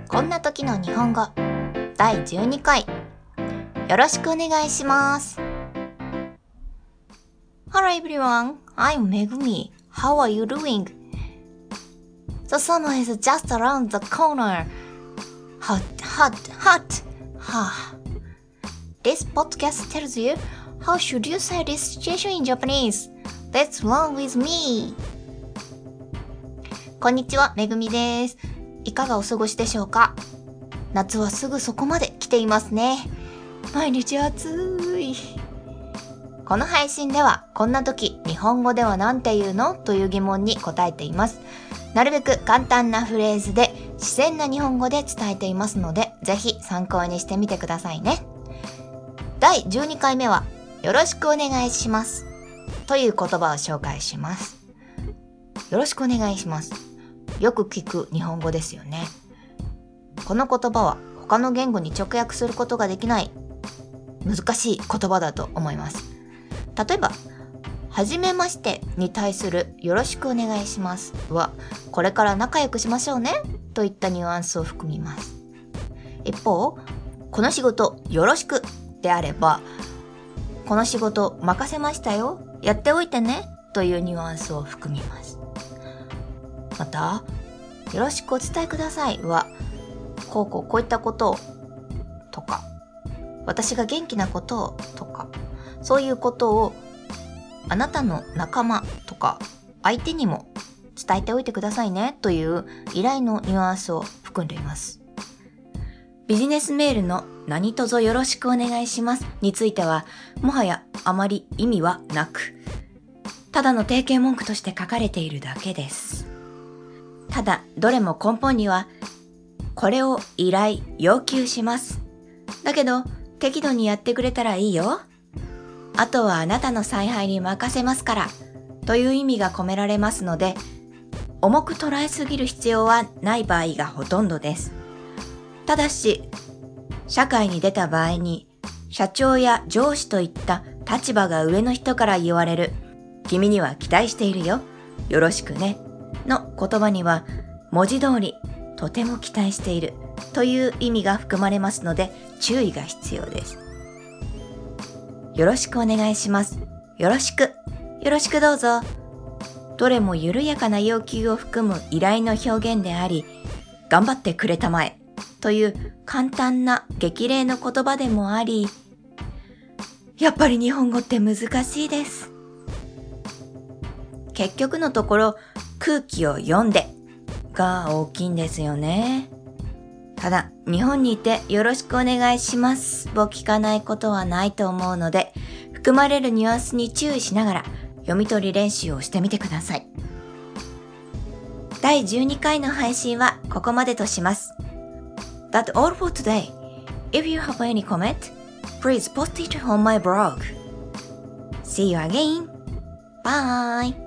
こんな時の日本語第12回よろしくお願いします。 Hello everyone, I'm Megumi. How are you doing? The summer is just around the corner. Hot. This podcast tells you how should you say this situation in Japanese. Let's learn with me. こんにちは、めぐみです。いかがお過ごしでしょうか？夏はすぐそこまで来ていますね。毎日暑い。この配信ではこんな時日本語ではなんて言うのという疑問に答えています。なるべく簡単なフレーズで自然な日本語で伝えていますので、ぜひ参考にしてみてくださいね。第12回目はよろしくお願いしますという言葉を紹介します。よろしくお願いします。よく聞く日本語ですよね。この言葉は他の言語に直訳することができない難しい言葉だと思います。例えば、はじめましてに対するよろしくお願いしますは、これから仲良くしましょうねといったニュアンスを含みます。一方、この仕事よろしくであれば、この仕事任せましたよ、やっておいてねというニュアンスを含みます。また、よろしくお伝えくださいは、こういったことをとか、私が元気なことをとか、そういうことをあなたの仲間とか相手にも伝えておいてくださいねという依頼のニュアンスを含んでいます。ビジネスメールの何卒よろしくお願いしますについては、もはやあまり意味はなく、ただの定型文句として書かれているだけです。ただ、どれも根本には、これを依頼、要求します。だけど、適度にやってくれたらいいよ。あとはあなたの采配に任せますから、という意味が込められますので、重く捉えすぎる必要はない場合がほとんどです。ただし、社会に出た場合に、社長や上司といった立場が上の人から言われる、君には期待しているよ、よろしくね、の言葉には、文字通り、とても期待しているという意味が含まれますので、注意が必要です。よろしくお願いします。よろしくどうぞ。どれも緩やかな要求を含む依頼の表現であり、頑張ってくれたまえという簡単な激励の言葉でもあり、やっぱり日本語って難しいです。結局のところ、空気を読んでが大きいんですよね。ただ、日本にいてよろしくお願いしますを聞かないことはないと思うので、含まれるニュアンスに注意しながら読み取り練習をしてみてください。第12回の配信はここまでとします。That's all for today. If you have any comment, please post it on my blog. See you again. Bye.